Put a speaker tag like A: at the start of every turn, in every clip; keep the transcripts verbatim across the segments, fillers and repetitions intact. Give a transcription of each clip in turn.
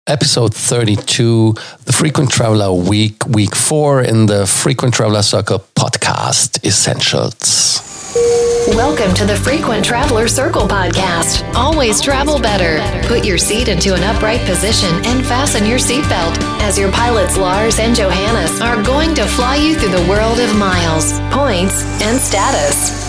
A: episode thirty-two, the Frequent Traveler Week, week four in the Frequent Traveler Circle podcast essentials.
B: Welcome to the Frequent Traveler Circle podcast. Always travel better. Put your seat into an upright position and fasten your seatbelt as your pilots Lars and Johannes are going to fly you through the world of miles, points, and status.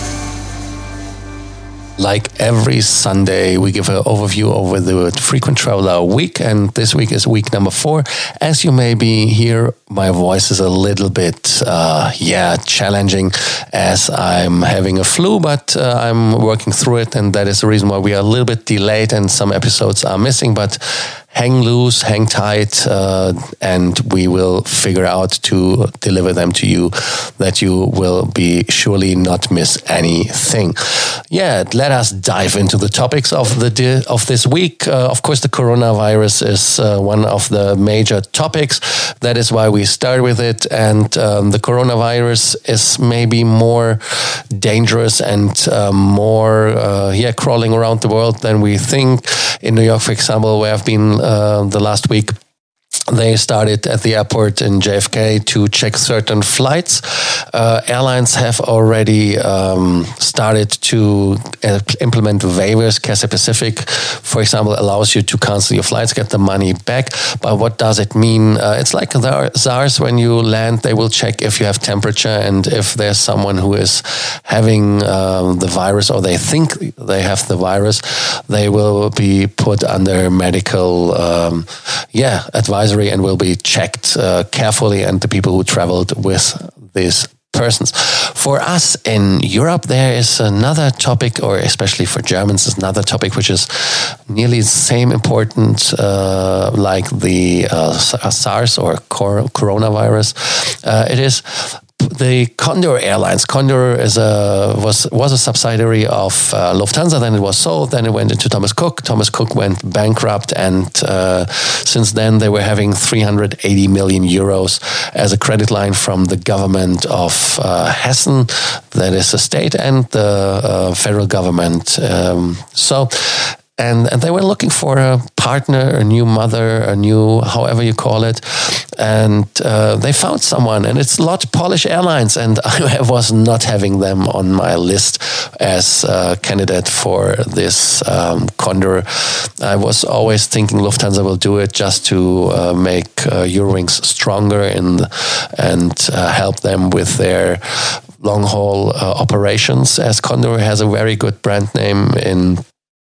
A: Like every Sunday, we give an overview over the Frequent Traveler Week, and this week is week number four. As you maybe hear, my voice is a little bit, uh, yeah, challenging as I'm having a flu, but uh, I'm working through it, and that is the reason why we are a little bit delayed and some episodes are missing, but hang loose, hang tight, uh, and we will figure out to deliver them to you that you will be surely not miss anything. Yeah, let us dive into the topics of the di- of this week. Uh, of course, the coronavirus is uh, one of the major topics. That is why we start with it. And um, the coronavirus is maybe more dangerous and uh, more, uh, yeah, crawling around the world than we think. In New York, for example, where I've been uh, the last week, they started at the airport in J F K to check certain flights. Uh, airlines have already um, started to uh, implement waivers. Cathay Pacific, for example, allows you to cancel your flights, get the money back. But what does it mean? Uh, it's like the SARS. When you land, they will check if you have temperature and if there's someone who is having um, the virus or they think they have the virus, they will be put under medical, um, yeah, advisory and will be checked uh, carefully, and the people who traveled with these persons. For us in Europe, there is another topic, or especially for Germans, is another topic which is nearly the same important uh, like the uh, SARS or cor- coronavirus. Uh, it is the Condor Airlines. Condor is a was was a subsidiary of uh, Lufthansa. Then it was sold. Then it went into Thomas Cook. Thomas Cook went bankrupt, and uh, since then they were having three hundred eighty million euros as a credit line from the government of uh, Hessen, that is a state, and the uh, federal government. Um, so. And, and they were looking for a partner, a new mother, a new, however you call it. And uh, they found someone, and it's Lot Polish Airlines. And I was not having them on my list as a candidate for this um, Condor. I was always thinking Lufthansa will do it just to uh, make uh, Eurowings stronger and, and uh, help them with their long-haul uh, operations, as Condor has a very good brand name in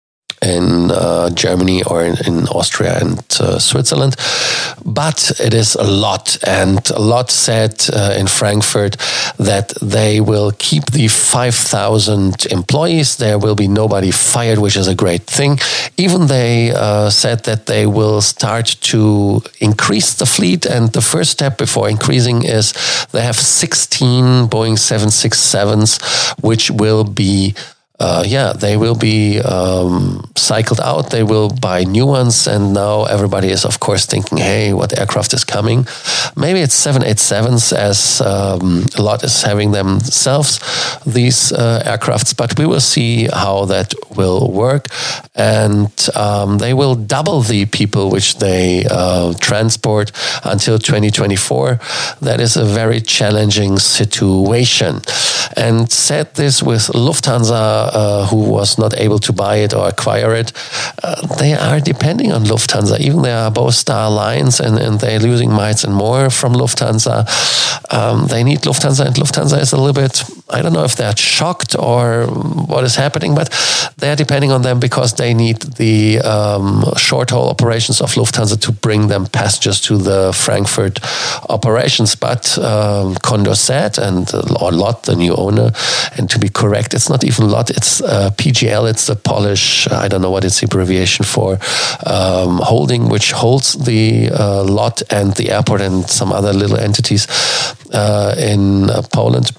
A: in uh, Germany or in, in Austria and uh, Switzerland. But it is a lot, and a lot said uh, in Frankfurt that they will keep the five thousand employees. There will be nobody fired, which is a great thing. Even they uh, said that they will start to increase the fleet, and the first step before increasing is they have sixteen Boeing seven sixty-sevens, which will be Uh, yeah, they will be um, cycled out. They will buy new ones. And now everybody is, of course, thinking, hey, what aircraft is coming? Maybe it's seven eighty-sevens, as um, a lot is having themselves, these uh, aircrafts. But we will see how that will work. And um, they will double the people which they uh, transport until twenty twenty-four. That is a very challenging situation. And said this with Lufthansa, Uh, who was not able to buy it or acquire it. Uh, they are depending on Lufthansa. Even they are both star lines, and, and they're losing miles and more from Lufthansa. Um, they need Lufthansa, and Lufthansa is a little bit, I don't know if they're shocked or what is happening, but they're depending on them because they need the um, short-haul operations of Lufthansa to bring them passengers to the Frankfurt operations. But um, Condor said, and or Lot, the new owner, and to be correct, it's not even Lot, it's uh, P G L, it's the Polish, I don't know what it's abbreviation for, um, holding, which holds the uh, Lot and the airport and some other little entities uh, in uh, Poland.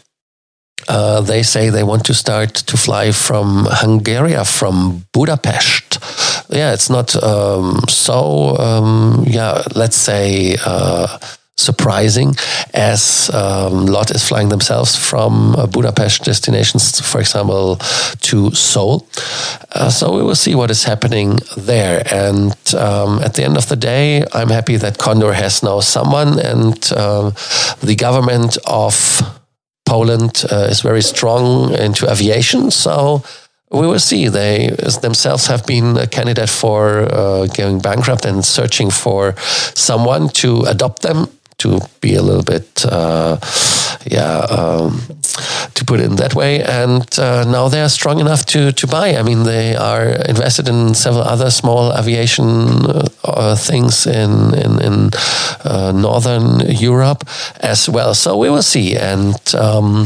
A: Uh, they say they want to start to fly from Hungary, from Budapest. Yeah, it's not um, so, um, yeah, let's say, uh, surprising, as um, LOT is flying themselves from uh, Budapest destinations, for example, to Seoul. Uh, so we will see what is happening there. And um, at the end of the day, I'm happy that Condor has now someone, and uh, the government of Poland uh, is very strong into aviation. So we will see. They themselves have been a candidate for uh, going bankrupt and searching for someone to adopt them, to be a little bit, uh, yeah, um, to put it in that way. And uh, now they are strong enough to, to buy. I mean, they are invested in several other small aviation uh, things in, in, in uh, Northern Europe as well. So we will see. And um,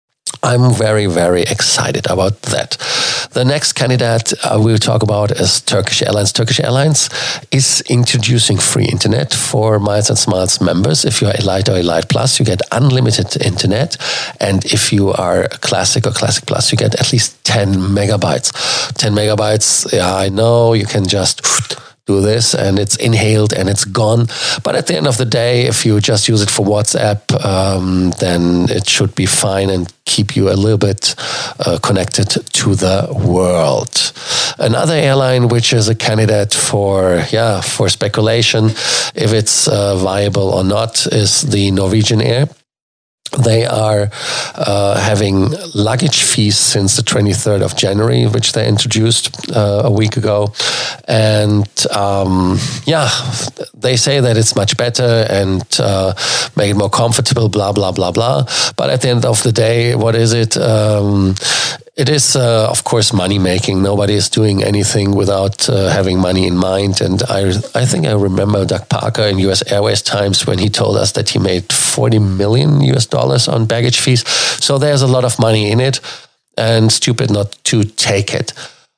A: I'm very, very excited about that. The next candidate uh, we'll talk about is Turkish Airlines. Turkish Airlines is introducing free internet for Miles and Smiles members. If you're Elite or Elite Plus, you get unlimited internet. And if you are Classic or Classic Plus, you get at least ten megabytes. ten megabytes, yeah, I know you can just do this and it's inhaled and it's gone. But at the end of the day, if you just use it for WhatsApp, um, then it should be fine and keep you a little bit uh, connected to the world. Another airline which is a candidate for, yeah, for speculation, if it's uh, viable or not, is the Norwegian Air. They are uh, having luggage fees since the twenty-third of January, which they introduced uh, a week ago. And um, yeah, they say that it's much better and uh, make it more comfortable, blah, blah, blah, blah. But at the end of the day, what is it? Um, It is, uh, of course, money making. Nobody is doing anything without uh, having money in mind. And I, I think I remember Doug Parker in U S Airways times when he told us that he made forty million U S dollars on baggage fees. So there's a lot of money in it, and stupid not to take it.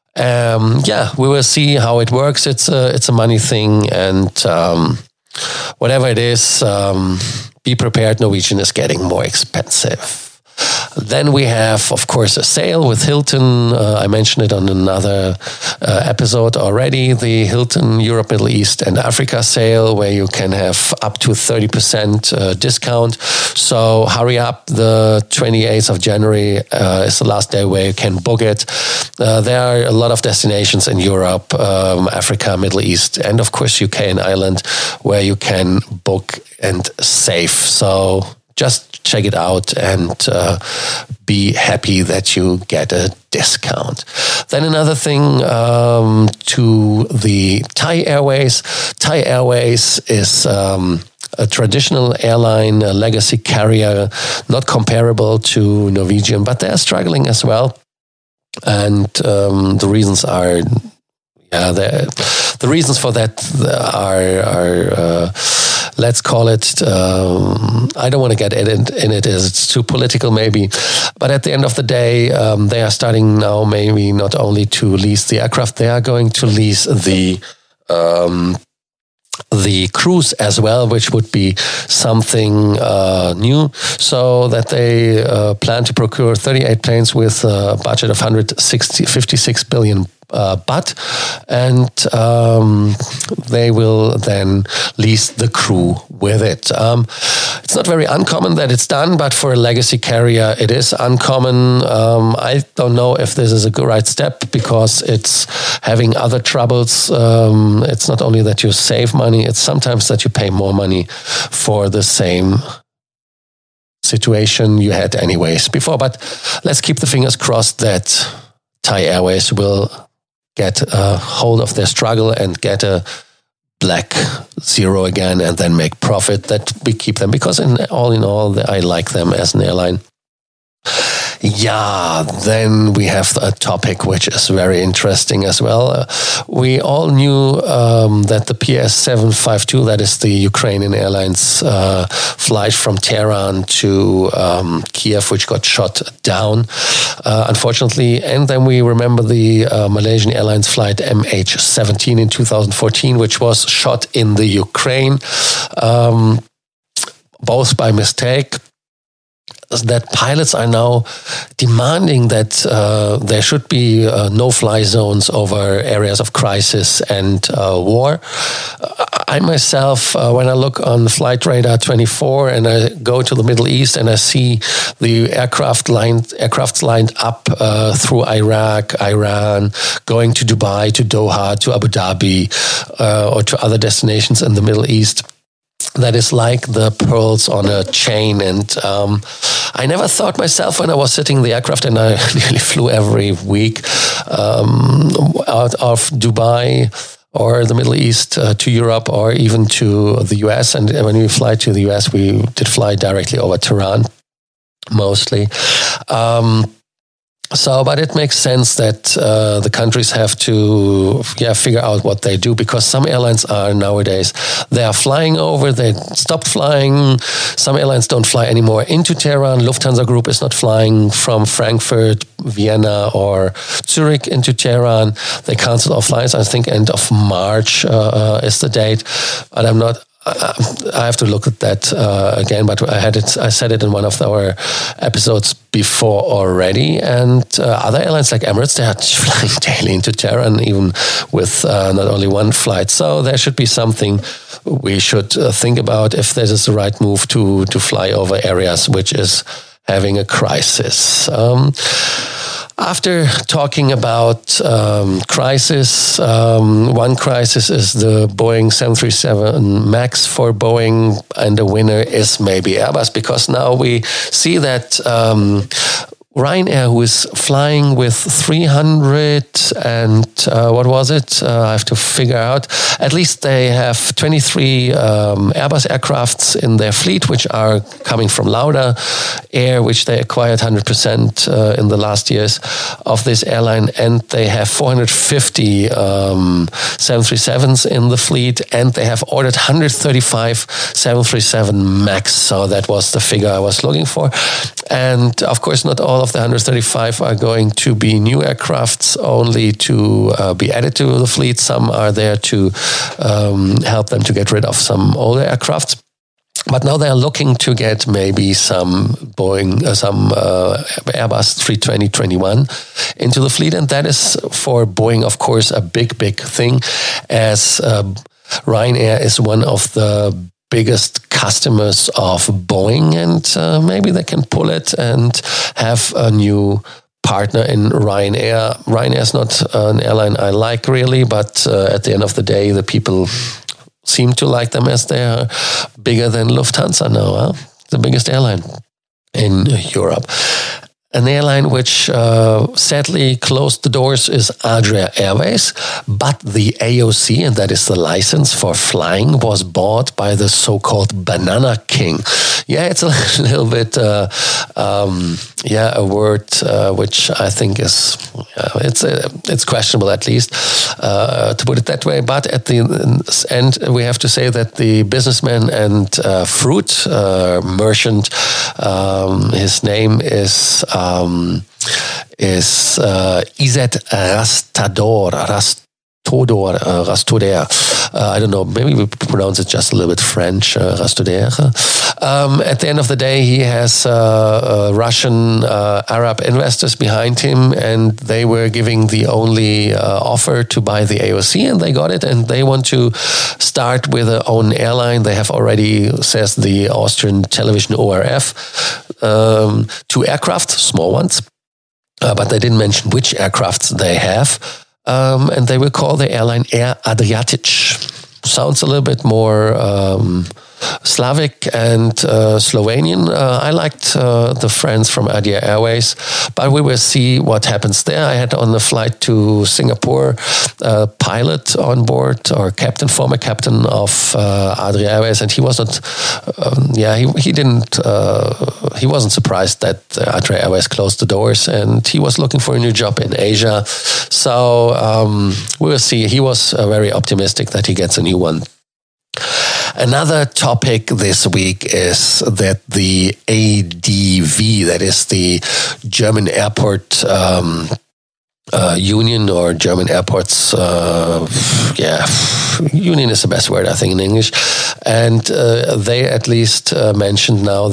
A: Um, yeah, we will see how it works. It's a, it's a money thing, and um, whatever it is, um, be prepared. Norwegian is getting more expensive. Then we have, of course, a sale with Hilton. Uh, I mentioned it on another uh, episode already, the Hilton Europe, Middle East and Africa sale, where you can have up to thirty percent uh, discount. So hurry up. The twenty-eighth of January uh, is the last day where you can book it. Uh, there are a lot of destinations in Europe, um, Africa, Middle East, and of course U K and Ireland, where you can book and save. So just check it out and uh, be happy that you get a discount. Then another thing um, to the Thai Airways. Thai Airways is um, a traditional airline, a legacy carrier, not comparable to Norwegian, but they're struggling as well. And um, the reasons are, yeah, the reasons for that are, are uh, let's call it, um, I don't want to get in, in it as it's too political maybe, but at the end of the day, um, they are starting now maybe not only to lease the aircraft, they are going to lease the um, the crews as well, which would be something uh, new, so that they uh, plan to procure thirty-eight planes with a budget of one hundred fifty-six billion Uh, but, and um, they will then lease the crew with it. Um, it's not very uncommon that it's done, but for a legacy carrier, it is uncommon. Um, I don't know if this is a good right step, because it's having other troubles. Um, it's not only that you save money, it's sometimes that you pay more money for the same situation you had anyways before. But let's keep the fingers crossed that Thai Airways will get a hold of their struggle and get a black zero again, and then make profit, that we keep them, because in all in all, I like them as an airline. Yeah, then we have a topic which is very interesting as well. Uh, we all knew um, that the P S seven fifty-two, that is the Ukrainian Airlines uh, flight from Tehran to um, Kiev, which got shot down, uh, unfortunately. And then we remember the uh, Malaysian Airlines flight M H seventeen in two thousand fourteen, which was shot in the Ukraine, um, both by mistake. That pilots are now demanding that uh, there should be uh, no-fly zones over areas of crisis and uh, war. I myself, uh, when I look on Flight Radar twenty-four and I go to the Middle East and I see the aircraft lined, aircrafts lined up uh, through Iraq, Iran, going to Dubai, to Doha, to Abu Dhabi, uh, or to other destinations in the Middle East, that is like the pearls on a chain. And um, I never thought myself when I was sitting in the aircraft, and I nearly flew every week um, out of Dubai or the Middle East uh, to Europe or even to the U S. And when we fly to the U S, we did fly directly over Tehran, mostly. Um, So, but it makes sense that uh, the countries have to, yeah, figure out what they do, because some airlines are nowadays, they are flying over, they stopped flying. Some airlines don't fly anymore into Tehran. Lufthansa Group is not flying from Frankfurt, Vienna, or Zurich into Tehran. They canceled all flights. I think end of March uh, is the date, but I'm not. I have to look at that uh, again, but I had it. I said it in one of our episodes before already. And uh, other airlines like Emirates, they are flying daily into Tehran, even with uh, not only one flight. So there should be something we should uh, think about if this is the right move to to fly over areas which is having a crisis. Um, After talking about um, crisis, um, one crisis is the Boeing seven thirty-seven MAX for Boeing, and the winner is maybe Airbus, because now we see that um, Ryanair, who is flying with three hundred and uh, what was it? Uh, I have to figure out. At least they have twenty-three um, Airbus aircrafts in their fleet, which are coming from Lauda Air, which they acquired one hundred percent uh, in the last years of this airline. And they have four hundred fifty um, seven thirty-sevens in the fleet, and they have ordered one hundred thirty-five seven thirty-seven MAX. So that was the figure I was looking for. And of course, not all of the one hundred thirty-five are going to be new aircrafts, only to uh, be added to the fleet. Some are there to um, help them to get rid of some older aircrafts. But now they're looking to get maybe some Boeing, uh, some uh, Airbus three twenty twenty-one into the fleet. And that is for Boeing, of course, a big, big thing, as uh, Ryanair is one of the biggest customers of Boeing, and uh, maybe they can pull it and have a new partner in Ryanair. Ryanair is not an airline I like really, but uh, at the end of the day, the people seem to like them, as they are bigger than Lufthansa now, huh? The biggest airline in Europe. An airline which uh, sadly closed the doors is Adria Airways, but the A O C, and that is the license for flying, was bought by the so-called Banana King. Yeah, it's a little bit, uh, um, yeah, a word uh, which I think is, uh, it's uh, it's questionable at least, uh, to put it that way. But at the end, we have to say that the businessman and uh, fruit uh, merchant, um, his name is... Um, is uh, Izzet Rastador, Rastodor, uh, Rastoder. Uh, I don't know, maybe we pronounce it just a little bit French, uh, Rastoder. Um, at the end of the day, he has uh, uh, Russian uh, Arab investors behind him, and they were giving the only uh, offer to buy the A O C, and they got it, and they want to start with their own airline. They have already, says the Austrian television O R F, um, two aircraft, small ones, uh, but they didn't mention which aircrafts they have. Um, and they will call the airline Air Adriatic. Sounds a little bit more um, Slavic and uh, Slovenian. Uh, I liked uh, the friends from Adria Airways, but we will see what happens there. I had on the flight to Singapore a pilot on board, or captain, former captain of uh, Adria Airways, and he was not, um, yeah, he, he didn't, uh, he wasn't surprised that Adria Airways closed the doors, and he was looking for a new job in Asia. So um, we will see. He was uh, very optimistic that he gets a new one. Another topic this week is that the A D V, that is the German Airport um, uh, Union, or German Airports, uh, yeah, union is the best word, I think, in English. And uh, they at least uh, mentioned now that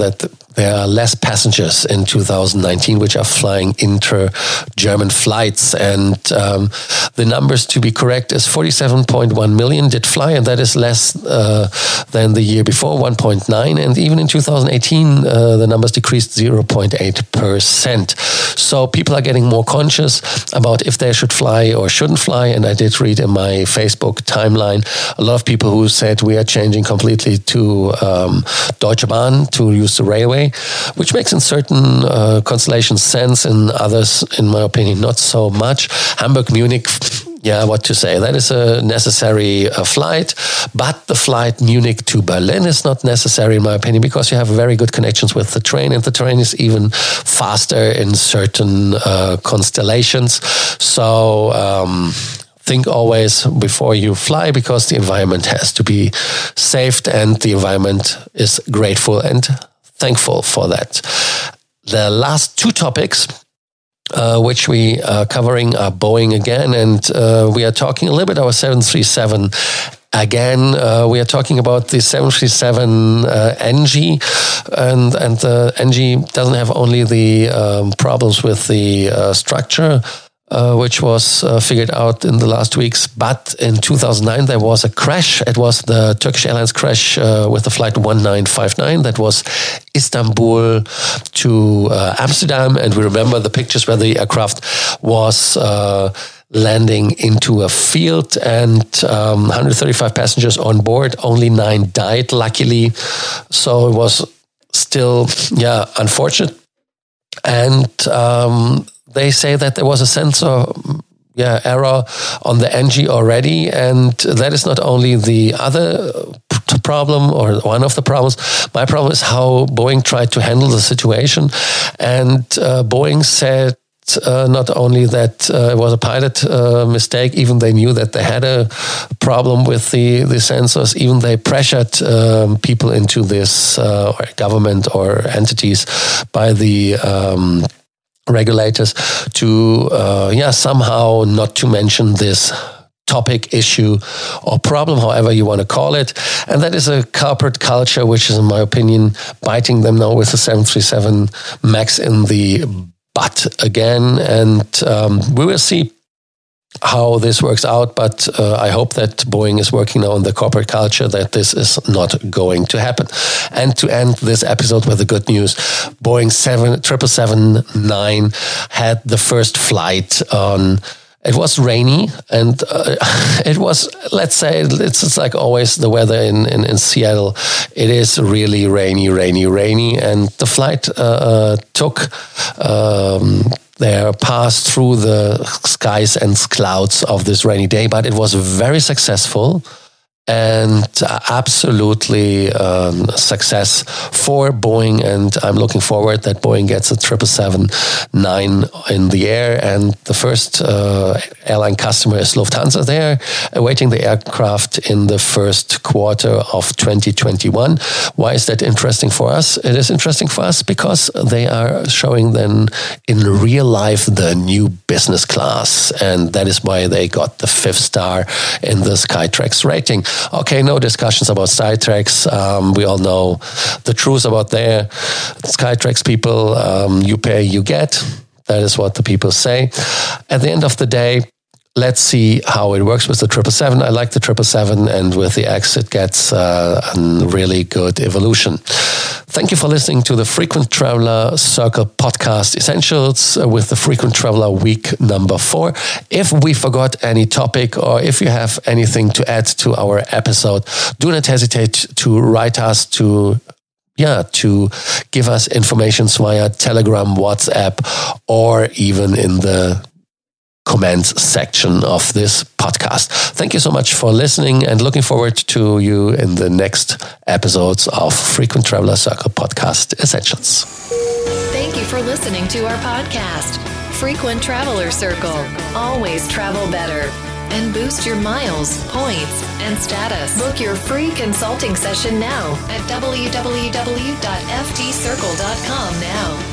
A: there are less passengers in two thousand nineteen which are flying inter-German flights. And um, the numbers, to be correct, is forty-seven point one million did fly, and that is less uh, than the year before, one point nine. And even in two thousand eighteen, uh, the numbers decreased zero point eight percent. So people are getting more conscious about if they should fly or shouldn't fly. And I did read in my Facebook timeline a lot of people who said we are changing completely to um, Deutsche Bahn, to use the railway, which makes in certain uh, constellations sense, in others, in my opinion, not so much. Hamburg, Munich, yeah, what to say? That is a necessary uh, flight, but the flight Munich to Berlin is not necessary, in my opinion, because you have very good connections with the train, and the train is even faster in certain uh, constellations. So um, think always before you fly, because the environment has to be saved, and the environment is grateful and thankful for that. The last two topics Uh, which we are covering are Boeing again, and uh, we are talking a little bit about seven thirty-seven again. Uh, we are talking about the seven thirty-seven uh, N G, and and the N G doesn't have only the um, problems with the uh, structure, Uh, which was uh, figured out in the last weeks. But in two thousand nine, there was a crash. It was the Turkish Airlines crash uh, with the flight one nine five nine. That was Istanbul to uh, Amsterdam. And we remember the pictures where the aircraft was uh, landing into a field, and um, one hundred thirty-five passengers on board. Only nine died, luckily. So it was still, yeah, unfortunate. And um, they say that there was a sensor yeah, error on the N G already, and that is not only the other problem or one of the problems. My problem is how Boeing tried to handle the situation, and uh, Boeing said Uh, not only that uh, it was a pilot uh, mistake, even they knew that they had a problem with the, the sensors, even they pressured um, people into this, uh, or government or entities by the um, regulators to, uh, yeah, somehow not to mention this topic, issue, or problem, however you want to call it. And that is a corporate culture, which is, in my opinion, biting them now with the seven thirty-seven MAX in the butt again. And um, we will see how this works out, but uh, I hope that Boeing is working now on the corporate culture, that this is not going to happen. And to end this episode with the good news, Boeing seven seven seven nine had the first flight on. It was rainy, and uh, it was, let's say, it's, it's like always the weather in, in, in Seattle. It is really rainy, rainy, rainy. And the flight uh, uh, took um, their pass through the skies and clouds of this rainy day, but it was very successful. And absolutely um, success for Boeing, and I'm looking forward that Boeing gets a seven seven seven nine in the air. And the first uh, airline customer is Lufthansa. They're awaiting the aircraft in the first quarter of twenty twenty-one. Why is that interesting for us? It is interesting for us because they are showing then in real life the new business class, and that is why they got the fifth star in the Skytrax rating. Okay, no discussions about Skytrax. Um, we all know the truth about their Skytrax people. Um, you pay, you get. That is what the people say. At the end of the day, let's see how it works with the triple seven. I like the triple seven, and with the X, it gets uh, a really good evolution. Thank you for listening to the Frequent Traveler Circle Podcast Essentials with the Frequent Traveler Week number four. If we forgot any topic, or if you have anything to add to our episode, do not hesitate to write us to Yeah, to give us information via Telegram, WhatsApp, or even in the comments section of this podcast. Thank you so much for listening, and looking forward to you in the next episodes of Frequent Traveler Circle Podcast Essentials.
B: Thank you for listening to our podcast, Frequent Traveler Circle. Always travel better and boost your miles, points, and status. Book your free consulting session now at w w w dot f t circle dot com now.